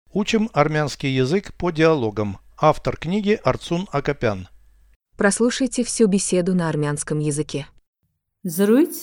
Учим армянский язык по диалогам. Автор книги Арцун Акопян. Прослушайте всю беседу на армянском языке. Զրույց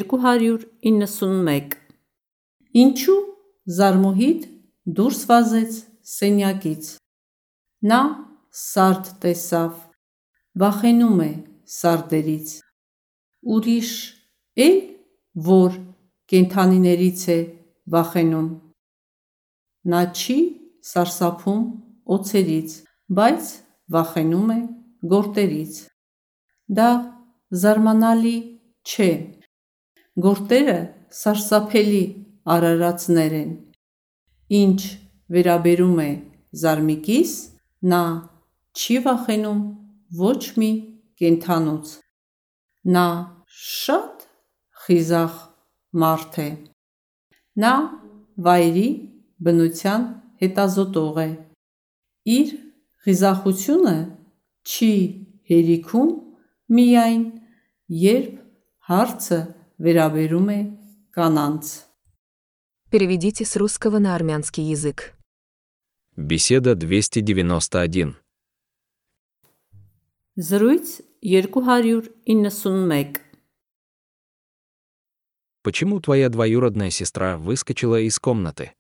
291. Ինչու Զարմուհիդ դուրս վազեց սենյակից։ Նա սարդ տեսավ, վախենում է սարդերից։ Ուրիշ էլ որ կենդանիներից է վախենում։ Նա չի սարսափում օձերից, բայց վախենում է գորտերից։ Դա զարմանալի չէ։ Գորտերը սարսափելի արարածներ են։ Ինչ վերաբերում է Զարմիկիս, նա չի վախենում ոչ մի կենդանուց։ Նա շատ խիզախ մարդ է։ Նա վայրի բնության հետազոտող է։ Իր խիզախությունը չի հերիքում միայն, երբ հարցը վերաբերում է կանանց։ Переведите с русского на армянский язык. Беседа 291. Զրույց 291. Почему твоя двоюродная сестра выскочила из комнаты?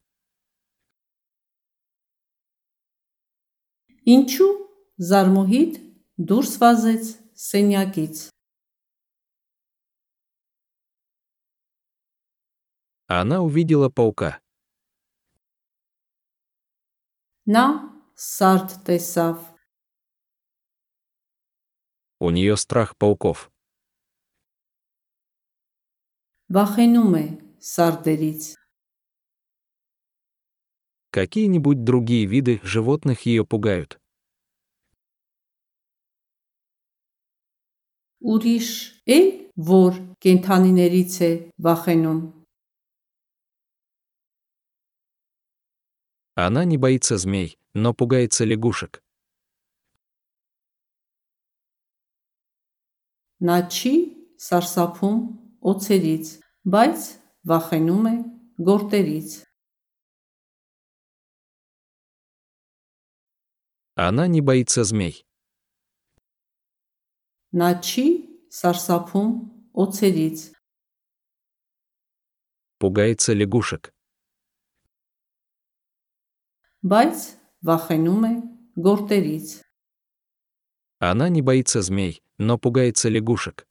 Ինչու Զարմուհիդ դուրս վազեց սենյակից։ Она увидела паука. Նա սարդ տեսավ։ У нее страх пауков. Վախենում է սարդերից։ Какие-нибудь другие виды животных ее пугают? Ուրիշ էլ որ կենդանիներից է վախենում։ Она не боится змей, но пугается лягушек. Նա չի սարսափում օձերից, բայց վախենում է գորտերից։ Она не боится змей. Նա չի սարսափում օձերից, Пугается лягушек. բայց վախենում է գորտերից։ Она не боится змей, но пугается лягушек.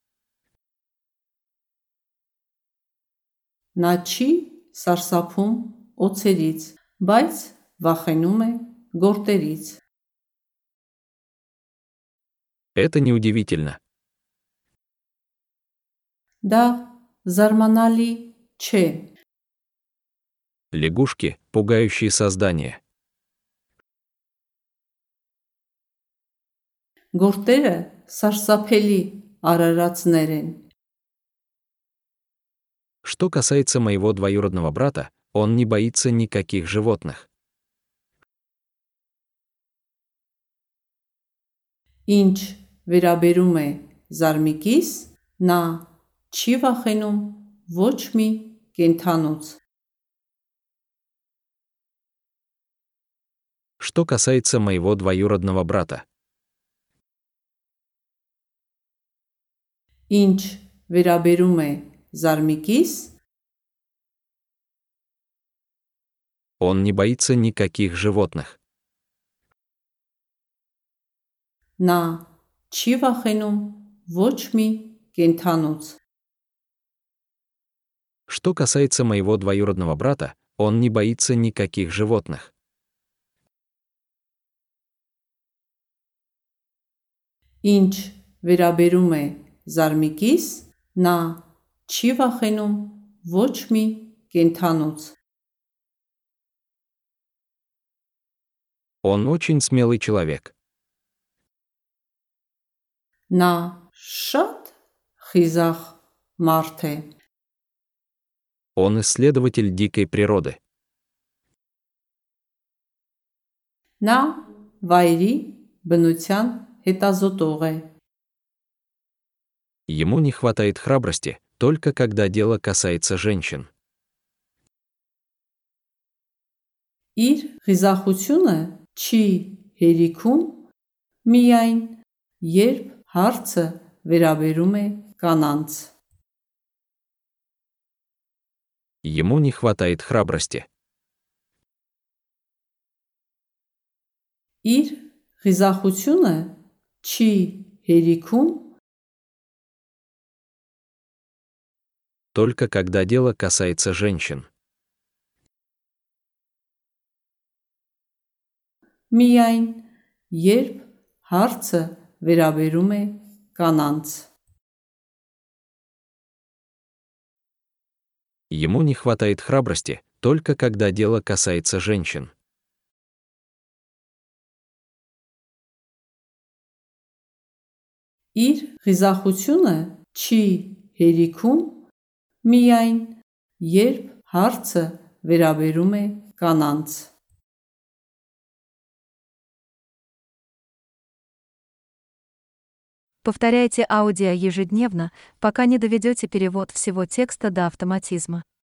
Նա չի սարսափում օձերից, բայց վախենում է գորտերից։ Это неудивительно. Դա զարմանալի չէ։ Лягушки – пугающие создания. Գորտերը սարսափելի արարածներ են։ Что касается моего двоюродного брата, он не боится никаких животных. Ինչ վերաբերում է Զարմիկիս, նա չի վախենում ոչ մի կենդանուց։ Что касается моего двоюродного брата, Ինչ վերաբերում է Զարմիկիս, он не боится никаких животных. նա չի վախենում ոչ մի կենդանուց։ Что касается моего двоюродного брата, он не боится никаких животных. Ինչ վերաբերում է Զարմիկիս, նա չի վախենում ոչ մի կենդանուց։ Он очень смелый человек. Նա շատ խիզախ մարդ է։ Он исследователь дикой природы. Նա վայրի բնության հետազոտող է։ Ему не хватает храбрости, только когда дело касается женщин. Իր խիզախությունը չի հերիքում միայն, երբ հարցը վերաբերում է կանանց։ Ему не хватает храбрости. Իր խիզախությունը չի հերիքում Только когда дело касается женщин. միայն, երբ հարցը վերաբերում է կանանց։ Ему не хватает храбрости, только когда дело касается женщин. Իր խիզախությունը չի հերիքում միայն, երբ հարցը վերաբերում է կանանց։ Повторяйте аудио ежедневно, пока не доведете перевод всего текста до автоматизма.